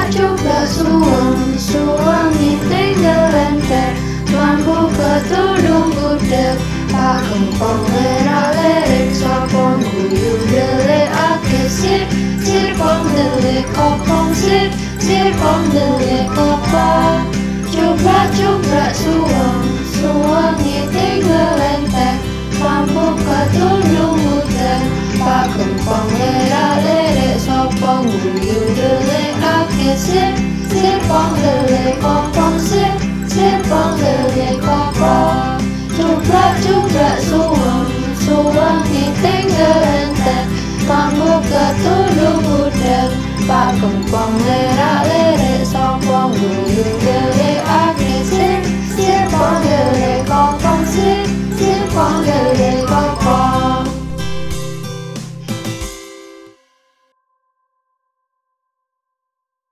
Coba suang tinggal lenteh, mampu ketudung gudeg, pak kempong lerak-lerik, sopong guyu delik ake sir pong delik kopong sir pong delik kopong. Coba suang tinggal lenteh, mampu ketudung gudeg, pak kempong lerak-lerik, sopong guyu delik ake sir pong delik kopong sir pong delik kopong. Coba suang tinggal lenteh, mampu ketudung gudeg, pak kempong lerak